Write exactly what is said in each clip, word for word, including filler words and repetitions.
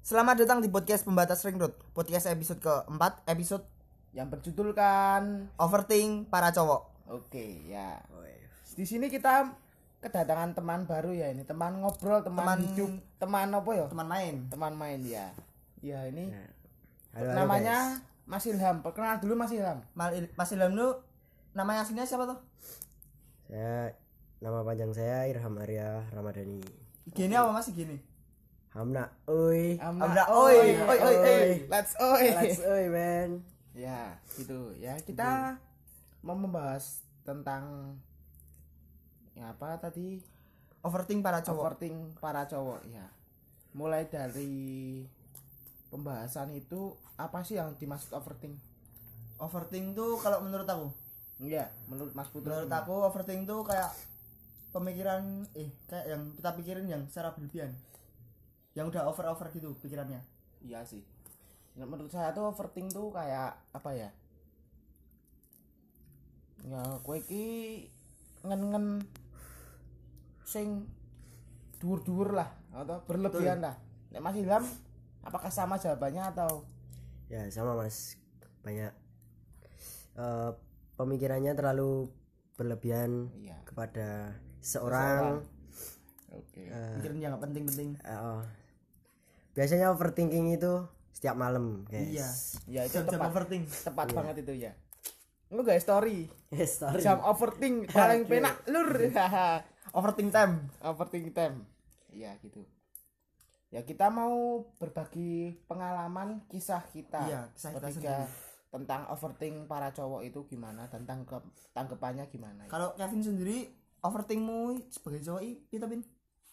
Selamat datang di podcast Pembatas Ring Road. Podcast episode keempat, episode yang berjudulkan Overthink para cowok. Oke, ya. Di sini kita kedatangan teman baru ya, ini teman ngobrol, teman, Teman hidup, teman apa ya? Teman main. Teman main ya. Ya, ini Halo, halo, namanya Mas Ilham. Perkenal dulu Mas Ilham. Mal- Mas Ilham lu namanya aslinya siapa tuh? Saya nama panjang saya Irham Arya Ramadhani. Gini apa Mas gini? Hamna, oi. Amna, oi, oi, oi, oi. Let's oi. Let's oi, man. Ya, gitu. Ya, kita mau membahas tentang ya apa tadi? Overthink para cowok. Overthink para cowok ya. Mulai dari pembahasan itu apa sih yang dimaksud overthink? Overthink tuh kalau menurut aku, Iya, menurut Mas Putra. menurut aku overthink tuh kayak pemikiran eh kayak yang kita pikirin yang secara berlebihan. Yang udah over-over gitu pikirannya. Iya sih. Nah, menurut saya tuh overthink tuh kayak apa ya? Ya, kowe iki ngen-ngen sing dhuwur-dhuwur lah atau berlebihan lah. Nek Mas Ilham apakah sama jawabannya atau Ya, sama Mas. Banyak eh, pemikirannya terlalu berlebihan iya. kepada seorang. Oke. eh, Pikiran yang gak penting-penting. eh, oh. Biasanya overthinking itu setiap malam, guys. Iya. Ya itu Jam-jam tepat, overthink. tepat banget itu ya. Lu guys story. Yes, sorry. Jam overthink paling Oke. penak lur. Overthink time. Overthink time. Iya gitu. Ya kita mau berbagi pengalaman kisah kita. Iya, kisah kita Bertiga sendiri. tentang overthink para cowok itu gimana dan tangkap tanggapannya gimana. Kalau Kevin sendiri overthinkmu sebagai cowok i kita pin.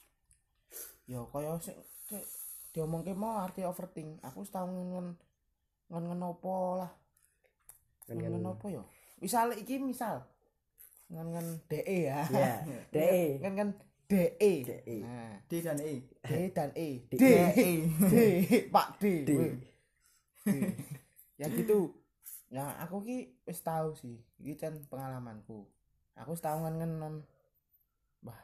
Yo kaya sik sik diomongke mau arti overthink. Aku setahun ngen ngen ngen opo lah. Ngen ngen opo yo? Misal iki misal ngen ngen DE ya. Iya, DE. Ngen ngen DE. DE. Nah, D dan E. D dan E. D. D. E. D. Pak D. D. Weh. D. Ya gitu. Ya aku ki wis tahu sih. Iki kan pengalamanku. Aku setahun ngen non. Wah.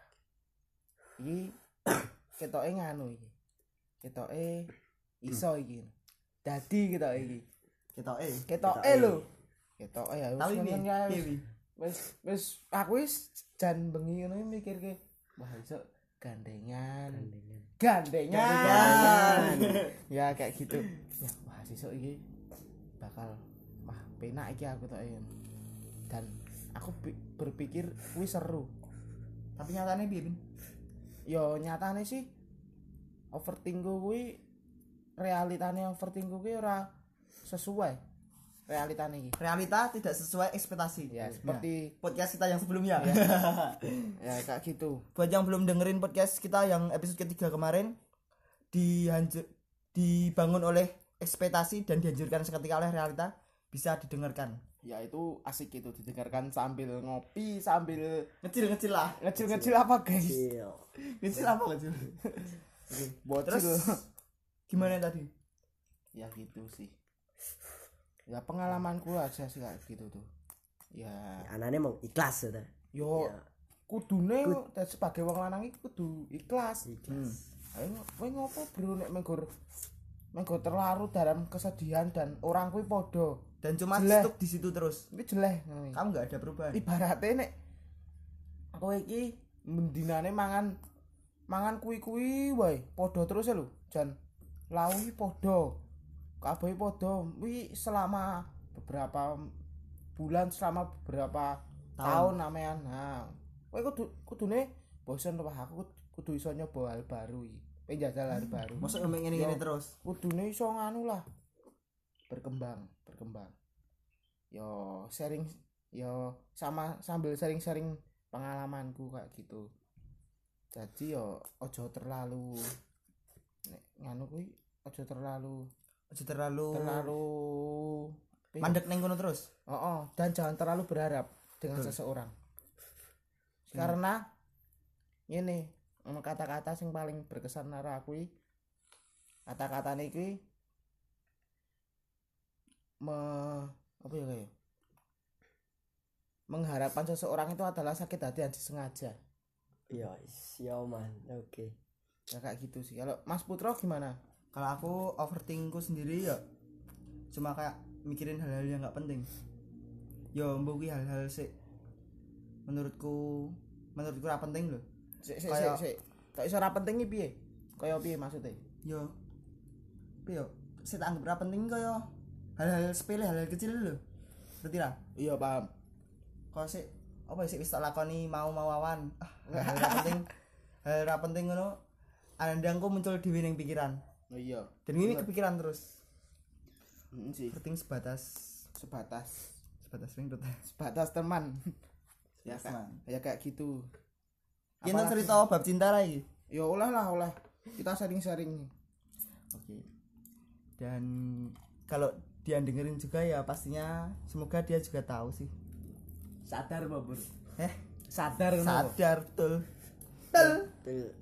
Iki ketoke nganu iki. Ketoke iso iki. Dadi ketoke iki. Kita E. Ketoke lho. Ketoke ya wis Tahu ini. ngono ya, Piye wis. wi? Wis wis aku wis jan bengi ngono mikirke wah iso gandengan. Gandengan. Gandengan. Ya kayak gitu. Ya wah sesuk iki bakal wah penak iki aku tok ya. Dan aku bi- berpikir kuwi seru. Tapi nyatanya piye pin? Yo nyatane sih overthink kuwi realitane overthink kuwi ora sesuai realitane iki. Realita tidak sesuai ekspektasi. Ya seperti Podcast kita yang sebelumnya. ya kayak gitu. Buat yang belum dengerin podcast kita yang episode ketiga kemarin dihanjur, dibangun oleh ekspektasi dan dihancurkan seketika oleh realita, bisa didengarkan. Ya itu asik itu didengarkan sambil ngopi sambil Ngecil-ngecil lah. ngecil-ngecil apa guys? Chill. Ngecil apa ngecil? Bocil. Terus gimana tadi? Ya gitu sih. Ya pengalamanku aja sih kayak gitu tuh. Ya Anaknya mau ikhlas ya. yo Ya. kudune dan sebagai wong lanang iki kudu ikhlas. Ikhlas. Ayo kowe ngopo bro nek menggor menggor terlarut dalam kesedihan dan orang kuwi padha. Dan cuma Jeleh. stuck di situ terus. Iki jeleh ngono. Kamu nggak ada perubahan. Ibarate nek kowe iki mendinane mangan mangan kuwi-kuwi wae padha terus ya lho jan lawi padha kabeh padha kuwi selama beberapa bulan selama beberapa tahun, tahun namean nah kowe kudu kudune bosen wah aku kudu iso nyoba hal baru iki penjajal hal baru Masa ngomong ngene-ngene terus. kudune iso nganu lah berkembang berkembang yo sharing yo sama sambil sharing-sharing pengalamanku kayak gitu jadi yo ojo terlalu nek nganu kuwi ojo terlalu Aja terlalu terlalu mandek neng kono terus. oh, oh dan jangan terlalu berharap dengan Betul. seseorang karena ini ono kata-kata sing paling berkesan karo aku iki kata-katane iki me apa ya kayak mengharapkan seseorang itu adalah sakit hati yang disengaja. Iya, yo man. Oke. Ya kayak gitu sih. Kalau Mas Putro gimana? Kalau aku overthinkku sendiri ya cuma kayak mikirin hal-hal yang nggak penting. Yo mbok kuwi hal-hal sik menurutku menurutku ora penting lho. Sik sik sik Kayak- sik. Kok iso ora penting iki piye? Kaya piye maksudnya? Yo piye yo sik tak anggap ora penting kaya hal-hal sepele, hal-hal kecil lho. Ngerti lah. Iya paham. Kok sik apa sik wis tak lakoni mau-mau awan. Ah, hal ora penting. Hal ora penting ngono. Andangku muncul dhewe ning pikiran. Oh iya. Dan ini kepikiran terus. Heeh sih. Penting sebatas Sebatas sebatas ring dot. sebatas teman. ya Sebatas kayak teman. ya kayak gitu. Kita Apalagi- cerita bab cinta lagi. Ya oleh lah oleh. Kita sharing-sharing. Oke. Dan kalau dia dengerin juga ya pastinya semoga dia juga tahu sih. Sadar Bobur. Eh, Sadar ngono. sadar tuh. Tel. Tuh.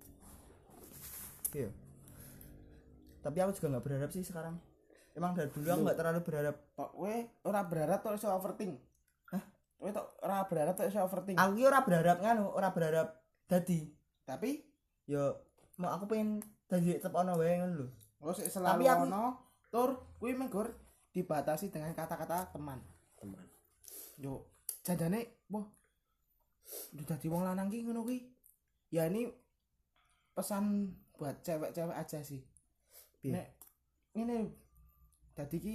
Iya. Tapi aku juga nggak berharap sih sekarang. Emang dari dulu aku nggak terlalu berharap. Tok we ora berharap tok iso overthink. Hah? We tok ora berharap tok iso overthink. Aku ki ora berharap nganu, ora berharap dadi. Tapi Yo mau aku pengen dadi tetep ono wae ngono lho. lo sik selalu Tapi aku- ono tur kuwi menggur dibatasi dengan kata-kata teman. Teman. Yo jadane wah udah dadi wong lanang ki ngono kuwi. Ya ini pesan buat cewek-cewek aja sih. Piye? Nek ngene dadi ki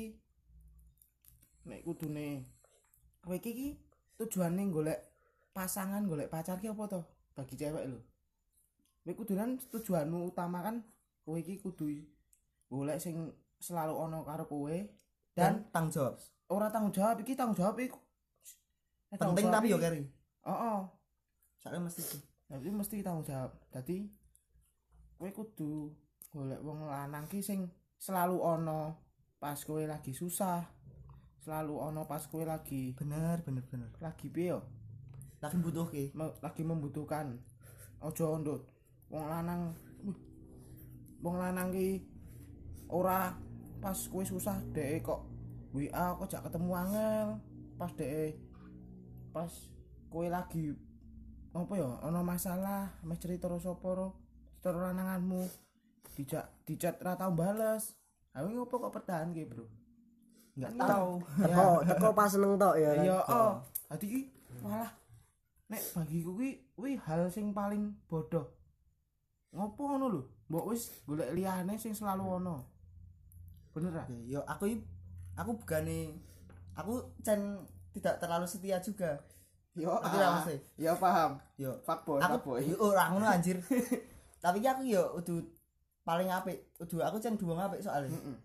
nek kudune kowe iki ki tujuane golek pasangan, golek pacar ki apa to? Bagi cewek lho. Kowe kudunan tujuanmu utama kan kowe iki kudu golek sing selalu ono karo kowe Dan dan tanggung jawab. ora tanggung jawab iki tanggung jawab iki Nek tanggung Penting jawab tapi yo iki- keri. Heeh. Soalnya mesti sih. Tapi mesti tanggung jawab. Dadi kowe kudu golek wong lanang ki sing selalu ono pas kowe lagi susah. Selalu ono pas kowe lagi Bener, bener, bener. lagi piye yo? Lagi butuh ki. Me- lagi membutuhkan. Ojo ndut. Wong lanang wih, wong lanang ki ora pas kowe susah dhek kok W A kok jak ketemu angel. Pas dhek pas kowe lagi apa ya ana masalah mes cerita karo sapa ro cerita lananganmu dijak dicat ra tau bales awe ngopo kok pertahanke bro Enggak Kan tahu. Teko teko pas seneng tok ya. kan? ya oh dadi ki malah nek bagiku ki kuwi hal sing paling bodoh ngopo ngono lho mbok wis golek liyane sing selalu ono bener ah Oke, yo aku i- aku bukannya aku cen tidak terlalu setia juga. yo Ngerti lah, Mas? ya paham Yo fuckboy aku fuckboy yo ora ngono anjir. Tapi ki aku yo udah paling apik, udah aku cen duwong apik soalnya. heeh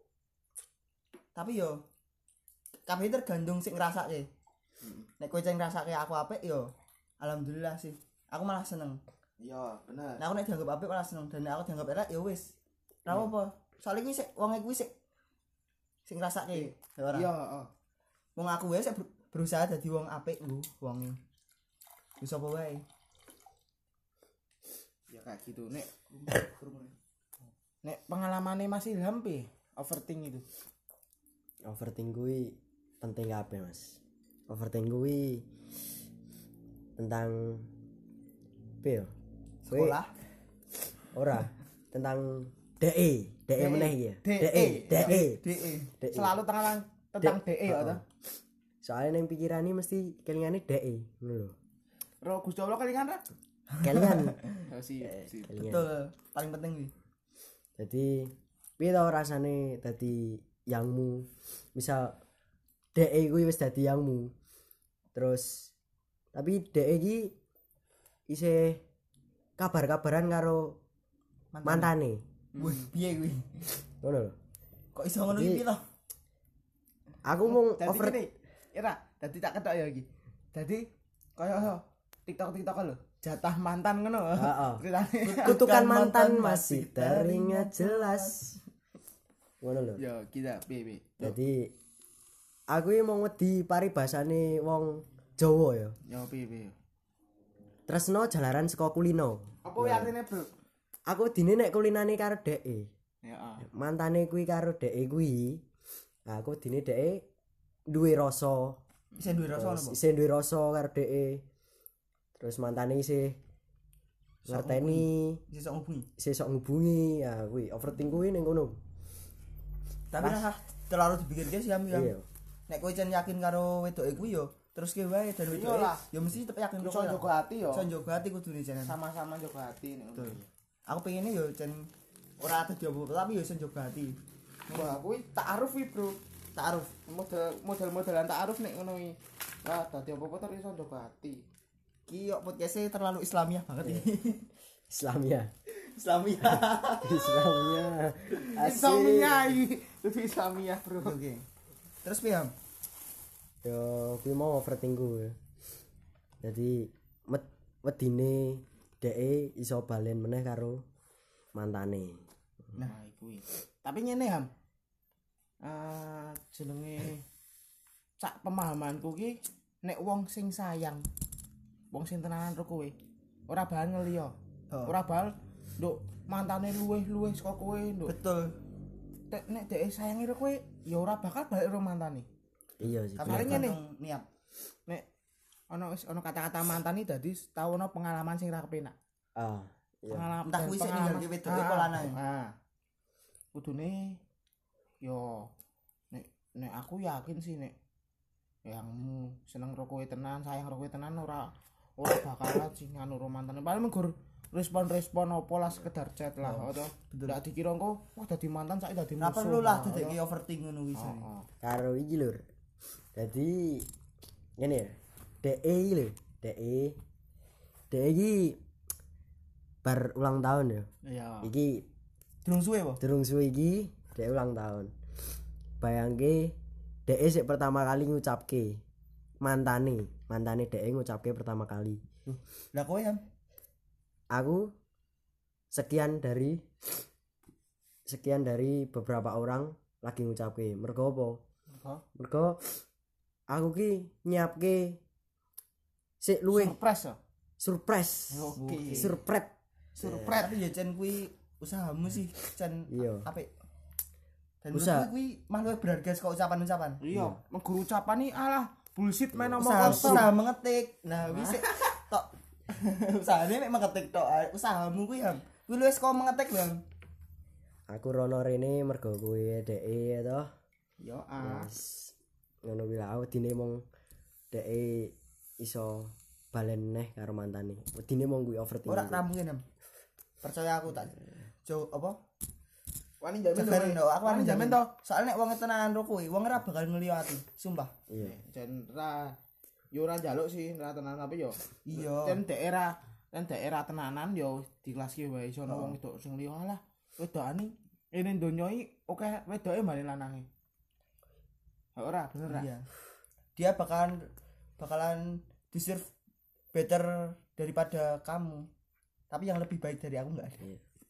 Tapi yo kabeh tergantung sing ngrasake. Nek kowe cen ngrasake aku apik yo alhamdulillah sih. Aku malah seneng. iya bener Nah, aku nek dianggap apik malah seneng dan nek aku dianggap elek ya wis. Ora apa. Soalnya kuwi sik wong kuwi sik sing ngrasake. Ya ora. iya heeh Wong aku wae sik ber- berusaha dadi wong apik nggo wonge. Wis apa wae. ya kayak gitu nek nek pengalamannya masih Ilham pi overthink itu Overthink kuwi penting kabeh, Mas. Overthink kuwi tentang piye? yo? Kuwi Sekolah. ora tentang D E, D E meneh iki ya. D E. D E, D E. DE. D E. selalu tentang tentang D E ya Heeh. ta Soalnya nang pikirane mesti kelingane D E, ngono lho. Ro Gusti Allah kelingan ra Kelingan. oh, si si kelingan. Betul, paling penting nih. Jadi piye to rasane dadi yangmu? Misal D E kuwi wis dadi yangmu. Terus tapi D E iki isih kabar-kabaran karo mantane. Wih, piye kuwi? Ngono lho. Kok iso ngono Jadi- iki to? Aku mau Dadi over gini, Ira, dadi tak ketok ya iki. Dadi kaya TikTok-TikTok lho, jatah mantan ngono. Heeh. Ceritane. kutukan Akan mantan mantan masih masih teringat jelas. Ngono lho. Yo, kita piye piye. Jadi aku iki mau wedi paribasane wong Jawa ya. Yo piye piye. Tresno jalaran saka kulino. Apa wae artine, Bro? Aku dine nek kulinane karo D E. Ya, ah. Mantane kuwi karo D E kuwi. Nah, aku dine D E duwe rasa. Bisa duwe rasa ngono, Terus Mbok. isih duwe rasa karo D E. Terus mantane isih ngerteni sesok ngubungi. sesok ngubungi ya kuwi overthink kuwi ning kono. Tapi nah terlalu dipikirke sih am. Iya. Nek kowe jan yakin karo wedoke kuwi yo terus ke wae dan wedoke Iyalah. yo mesti tetep yakin Iso karo kowe. jaga hati yo. Iso njogo ati kudune jan. Sama-sama jaga hati nek ngono. Aku pengennya yo jan ora ada diopo tapi yo iso njogo ati. Wah, kuwi ta'aruf kuwi, Bro. Ta'aruf. Model model-modelan ta'aruf nek ngono iki. Wah, dadi apa-apa terus iso jaga hati. Ki yo podcast-e terlalu Islamiah banget ini. Islamia. Islamia. Islamia. Islamia iki. Lebih Islamia, Bro. Oke. Terus piye, Am? Yo kuwi mau overthink ku. Jadi met wedine dheke iso balen meneh karo mantane. Nah, kuwi. Tapi ngene, Ham. Eh jenenge cak pemahamanku ki nek wong sing sayang, wong sing tenanan karo kowe, ora bakal ngeliya. Oh. Ora bakal nduk mantane luweh-luweh saka kowe, nduk. Betul. Tek nek dhek sayangi karo kowe, ya ora bakal balik karo mantane. Iya sih. Paling Paling ngene. niat. Nek ana wis ana kata-kata mantan iki dadi tau ana pengalaman sing ra kepenak. Ah, iya. Pengalaman Entah kuwi sik ninggalke wedoke apa lanang. Ah. Kudune yo nek nek aku yakin sih nek yangmu seneng karo kowe tenan, sayang karo kowe tenan ora ora bakalan sing anu romantane. Paling menggur respon-respon apa lah sekedar chat lah, oh. Toh. Ndak dikira engko wah dadi mantan saiki dadi musuh. Ora perlu lah dadeke overthink ngono kuwi. Heeh. Karo iki lur. Dadi ngene ya. Dheke iki lho, dheke. Dheke iki bar ulang tahun ya. Iya. Iki Durung suwe po? durung suwe iki dhek ulang tahun. Bayangke dheke sik pertama kali ngucapke mantane, mantane dheke ngucapke pertama kali. Lah kowe ya? Aku sekian dari sekian dari beberapa orang lagi ngucapke. Mergo apa? Mergo Mergo aku ki nyiapke sik luwih surprise ya. surprise. Oke. Surprise. Surprise tapi ya jan kuwi usahamu sih jan Iya. apik. Dan Usaha. menurutku kuwi malah berharga saka ucapan-ucapan. Iya, menggur ucapan iki alah bullshit main omong Usaha, kosong. usaha mengetik. Nah, wis sik tok. Usahane mek mengetik tok. Usahamu kuwi ham. Kuwi luwes kok mengetik, Bang. Aku rono rene mergo kowe dheke to. Yo ah. Wes ngono kuwi lah wedine mong dheke iso balen neh karo mantane. Wedine mong kuwi overthinking. Ora rampungin, Ham. Percaya aku tak. Jo apa? Wani jamin Cegarin to. to, aku Wani wani jamin jamin to. to. Soalnya nek wong tenanan karo kowe, wong ora bakal ngeliyo ati, sumpah. Iya. Jan ra yo ora njaluk sih ra tenan tapi yo. Iya. Jan daerah dan daerah tenanan yo dikelaske wae iso ono Oh. wong wedok sing liya alah. Wedokane ini donya iki oke wedoke mbane lanange. Ora bener ra? Iya. Dia bakalan bakalan deserve better daripada kamu. Tapi yang lebih baik dari aku enggak ada.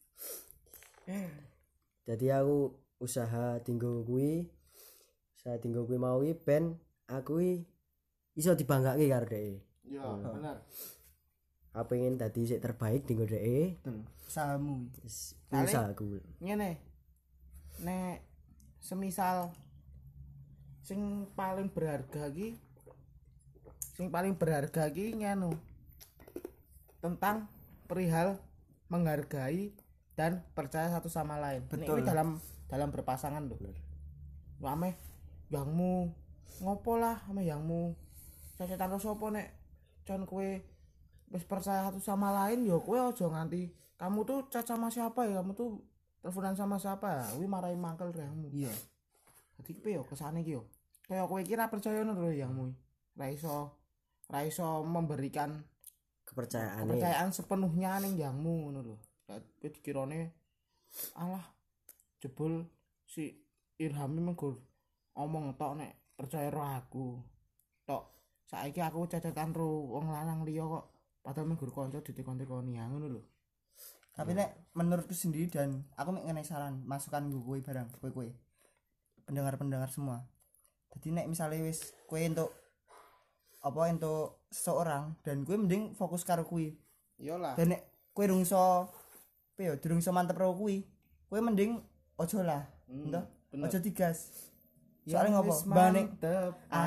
Jadi aku usaha tinggo kuwi usaha tinggo kuwi mau kuwi ben aku kuwi iso dibanggake karo dhek. Yo bener. Aku pengen dadi sik terbaik tinggo dhek. Betul. Usahamu. Wis Kali- usahaku. Ngene. Nek semisal sing paling berharga iki sing paling berharga iki nganu tentang perihal menghargai dan percaya satu sama lain. Betul. Ini dalam dalam berpasangan lho. Ame yangmu ngopo lah ame yangmu cacetan karo sapa nek con kowe wis percaya satu sama lain ya kowe aja nganti kamu tuh chat sama siapa ya kamu tuh teleponan sama siapa ya kuwi marahi mangkel rehmu. Iya. Dadi piye yo kesane iki yo. Kaya kowe kira percaya ngono lho yangmu. Ra iso ra iso memberikan Kepercayaane. kepercayaan sepenuhnya ning yangmu ngono lho. Dadi dikirane alah jebul si Irhami menggur omong tok nek percaya ro aku. Tok saiki aku cacetan ro wong lanang liya kok padahal menggur kanca ditekon-tekoni ya ngono lho. Tapi nek menurutku sendiri dan aku mek ngenai saran, masukan gue kowe barang, kowe kowe. Pendengar-pendengar semua. Jadi nek misalnya wis kowe entuk apa entuk seseorang dan kowe mending fokus karo kuwi. Iyalah. Dan nek kowe durung iso piye yo durung iso mantep karo kuwi, kowe mending ojo lah. Hmm, Entah, bener. ojo digas. Soalnya ngopo? Bane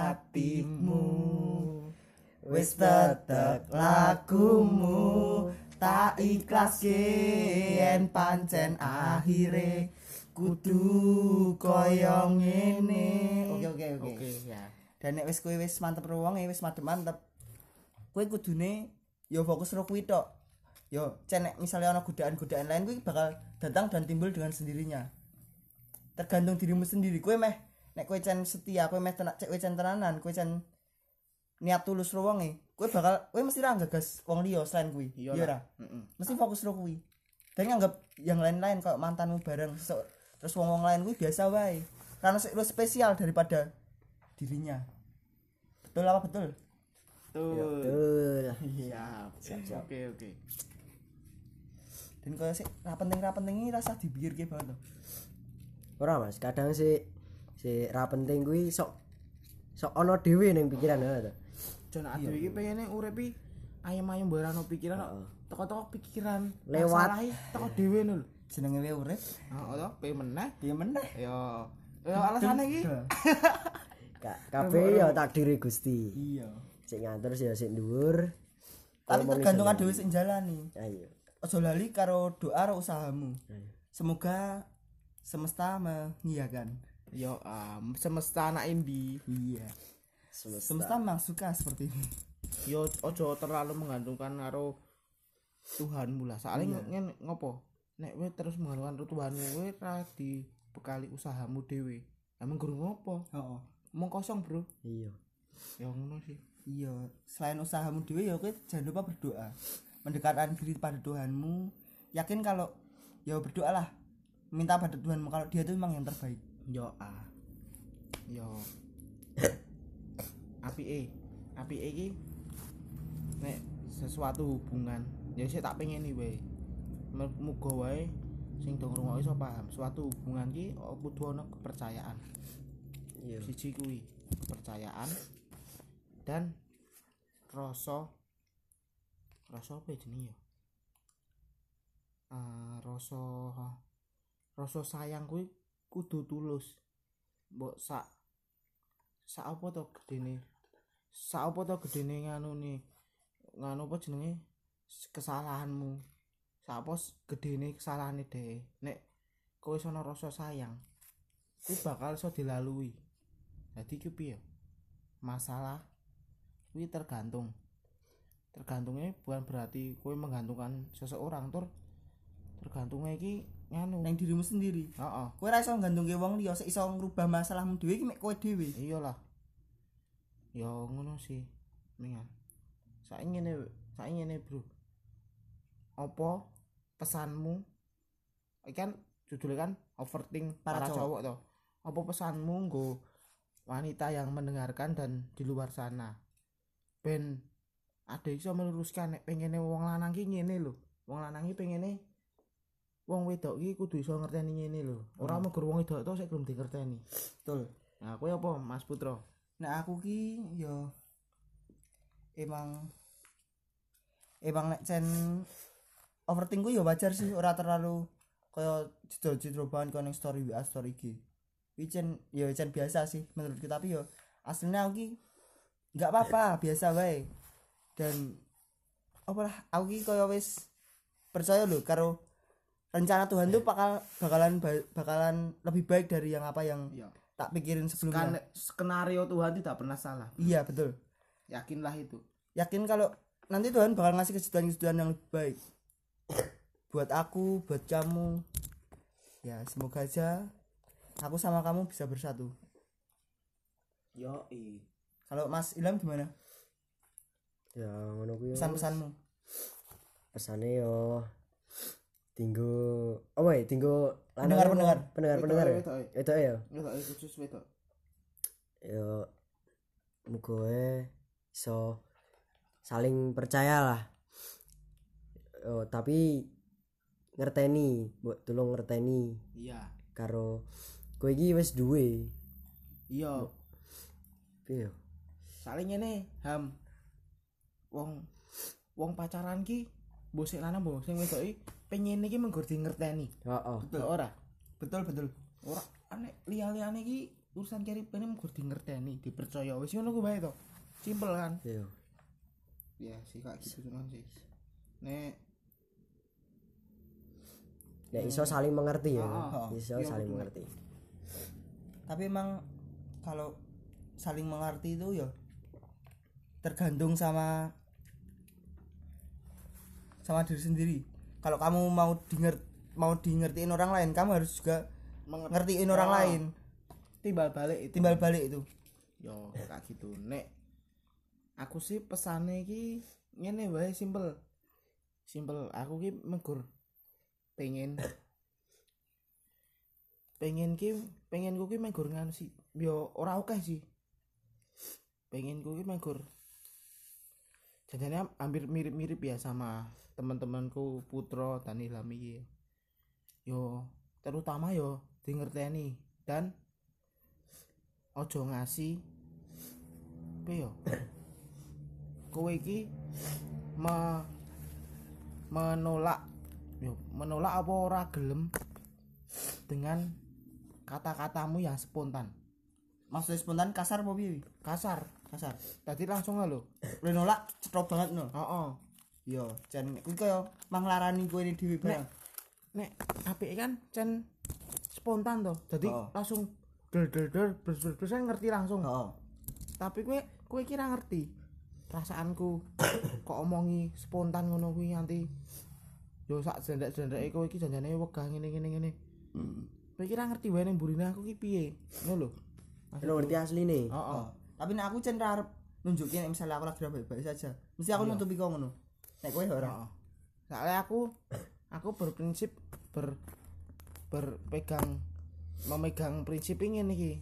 atimu wis tetep lakumu tak ikhlas yen pancen akhire kudu kaya ngene. Oke oke oke. Oke ya. Dan nek wis kowe wis mantep ruwonge wis mantep-mantep. Kowe kudune ya fokus ro kuwi tok. Yo cen nek misale ana godaan-godaan lain kuwi bakal datang dan timbul dengan sendirinya. Tergantung dirimu sendiri. Kowe meh nek kowe cen setia, kowe meh tenak cek kowe cen tenanan, kowe cen niat tulus ro wonge, kowe bakal kowe mesti ra gagas wong liya selain kuwi. Iya ora? Heeh. Mesti fokus ro kuwi. Dan nganggap yang lain-lain kayak mantanmu bareng so, terus wong-wong lain kuwi biasa wae. Karena lu spesial daripada dirinya. Betul apa betul? Betul. Betul. Siap. Siap. Oke oke. Dan kaya sik ra penting-ra penting iki rasa dipikirke banget. Ora Mas, kadang sih si ra penting kuwi sok sok ana dhewe ning pikiran ha to. Jan ade iki pengene uripi ayem-ayem barano pikiran kok teko-teko pikiran Lewat. masalah teko dhewe lho. Jenenge wae urip, Heeh to, pe meneh. piye meneh? Ya. Ya alasane iki. Kak kabeh ya takdire Gusti. Iya. Sing ngatur ya sing dhuwur. Tapi Ngomong tergantung iso dhewe sing jalani. Ayo. Aja lali karo doa karo usahamu. Ayo. Semoga semesta mengiyakan. Ya um, semesta anak indi. Iya. Semesta. Semesta memang suka seperti ini. Yo ojo terlalu menggantungkan karo Tuhanmu lah. Soalnya ngene ngopo? Nek kowe terus menggantungkan karo Tuhanmu kowe ra dibekali usahamu dhewe. Emang guru ngopo? Heeh. Omong kosong, Bro. Iya. Ya ngono sih. Iya, selain usahamu dhewe ya kowe jangan lupa berdoa. Mendekatkan diri pada Tuhanmu. Yakin kalau ya berdoalah. Minta pada Tuhanmu kalau dia itu memang yang terbaik. Yo ah. Yo. Apike. Apike iki nek sesuatu hubungan, ya sik tak pengen iki wae. Muga wae sing do ngrungokke iso paham. Suatu hubungan ki kudu ana kepercayaan. Iya. Siji kuwi, kepercayaan dan rasa rasa apa jenenge ya? Ah, rasa rasa sayang kuwi kudu tulus. Mbok sak sak apa to gedene? Sak apa to gedene nganune? Nganu apa jenenge? Kesalahanmu. Sak apa gedene kesalahane dhewe. Nek kowe sono rasa sayang, kuwi bakal iso dilalui. Dadi ki piye? Masalah kuwi tergantung. Tergantungnya bukan berarti kowe menggantungkan seseorang tur tergantungnya iki nganu Nang dirimu sendiri. heeh Kowe ra iso nggantungke wong liya, sik iso ngrubah masalahmu dhewe iki mek kowe dhewe. iyalah ya ngono sih mingan saiki ngene saiki ngene bro apa pesanmu iki kan judulnya kan overthink Para para, cowok. cowok toh apa pesanmu nggo wanita yang mendengarkan dan di luar sana ben ada iso meluruskan nek pengene wong lanang ki ngene lho wong lanang ki pengene wong wedok ki kudu iso ngerteni ngene lho ora Hmm. megur wong wedok tok sik belum dingerteni. Betul. Nah, kowe apa Mas Putra? Nah aku ki yo emang emang nek cen overthink ku yo wajar sih, ora terlalu kaya jedro-jedro banget koyo ning story W A story I G. Iki cen yo cen biasa sih menurutku, tapi yo aslinya aku ki enggak apa-apa, biasa wae. Dan apalah aku ki kaya wis percaya lho karo rencana Tuhan tuh bakal bakalan ba- bakalan lebih baik dari yang apa yang Iya. tak pikirin sebelumnya. Kan skenario Tuhan tidak pernah salah. Iya betul. Yakinlah itu. Yakin kalau nanti Tuhan bakal ngasih kejutan-kejutan yang lebih baik buat aku, buat kamu. Ya semoga aja aku sama kamu bisa bersatu. Yo i. Kalau Mas Ilham gimana Ya ngono kuwi. pesan-pesanmu? Pesane yo tinggo apa ya tinggo Pendengar-pendengar. pendengar-pendengar ya. Wedok, wedok. Itu ya. Wedok khusus wedok. Yo muga wae iso saling percaya lah. Yo, tapi ngerteni, mbok tulung ngerteni Iya. karo kowe iki wis duwe. Iya. Piye yo? Saling ngene, Ham. Wong wong pacaran ki mbok sik lanang mbok sing wedok iki pengen iki menggur di ngerteni. Heeh. Betul. Ora. Betul betul. Ora aneh liya-liyane iki urusan cari pengen menggur di ngerteni, dipercaya wis ngono ku bae to. Simpel kan? Yo. Ya sih kak gitu cuman sih. Nek nek iso saling mengerti ya. Heeh. Iso saling mengerti. Tapi emang kalau saling mengerti itu ya tergantung sama sama diri sendiri. Kalau kamu mau dinger mau dingertiin orang lain, kamu harus juga ngertiin orang Oh. lain. Timbal balik itu. Timbal balik itu. Yo kayak gitu. Nek aku sih pesane iki ngene wae simpel. Simpel, aku ki megur pengen pengen ki pengen ku ki megur nganu sih. Yo ora akeh sih. Pengen ku ki megur jadinya hampir mirip-mirip ya sama teman-temanku Putra dan Ilham iki. Yo terutama yo di ngerteni dan ojo ngasih apa yo kowe iki me, menolak yo menolak apa ora gelem dengan kata-katamu yang spontan. Maksudnya spontan kasar apa piye? Kasar. Kasar. Tadi langsung lho. Lu nolak cetok banget no. Heeh. Yo, jan kuwi kaya manglarani kowe dhewe barang. Nek apike kan cen spontan to. Jadi Oh. langsung del del del bers ngerti langsung. Heeh. Tapi kowe kowe kira ngerti perasaanku kok omongi spontan ngono kuwi nganti yo sak jendek-jendeke kowe iki janjane wegah ngene ngene ngene. Hmm. Kowe kira ngerti wae ning burine aku ki piye. Ngono lho. Lo ngerti asline. Heeh. Tapi nek aku cen arep nunjukin nek misalnya aku lagi baik-baik saja. Mesti aku nutupi kok ngono. Nek kowe ora. Heeh. Soalnya aku aku berprinsip ber berpegang memegang prinsip ingin iki.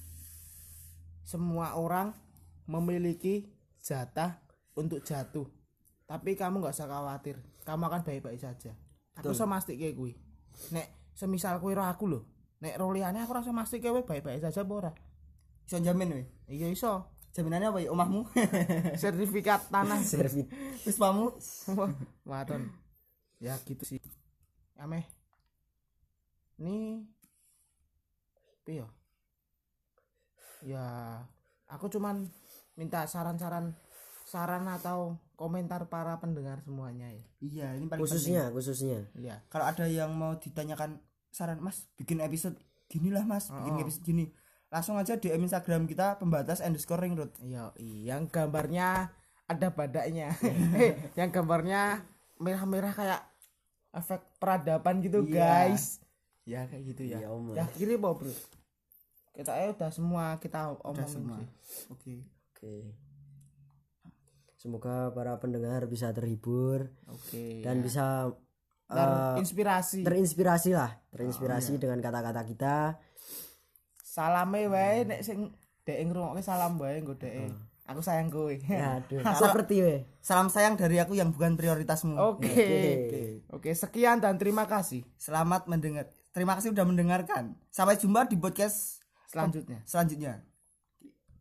Semua orang memiliki jatah untuk jatuh. Tapi kamu nggak usah khawatir. Kamu akan baik-baik saja. Aku iso mastike kuwi. Nek semisal kowe ro aku lho. Nek ro liyane aku rasa mastike kowe baik-baik saja apa ora? Iso jamin we. Iya iso. Jaminannya apa ya? Omahmu. Sertifikat tanah Servit. Wismamu. Waton. Ya gitu sih. Ameh. Nih piye ya? Ya, aku cuman minta saran-saran saran atau komentar para pendengar semuanya ya. Iya, ini paling Khususnya, khususnya. Iya. penting. Kalau ada yang mau ditanyakan saran, Mas, bikin episode gini lah, Mas, bikin Oh. episode gini. Langsung aja D M Instagram kita pembatas underscore ring road. Iya, yang gambarnya ada badaknya. Eh, yang gambarnya merah-merah kayak efek peradaban gitu, Iya. guys. Ya kayak gitu ya. Iya, Om. Ya kiri apa, Bro? Kita eh udah semua kita Udah omongin semua. sih. Oke. Oke. Semoga para pendengar bisa terhibur Oke. dan ya. bisa Dan eh, inspirasi. terinspirasi lah, terinspirasi dengan kata-kata kita. Salame wae nek sing dek ngrungokke salam wae nggo dek. Aku sayang kowe. Ya, aduh. Seperti we. Salam sayang dari aku yang bukan prioritasmu. Oke. Oke, sekian dan terima kasih. Selamat mendengar. Terima kasih sudah mendengarkan. Sampai jumpa di podcast Selanjutnya. selanjutnya.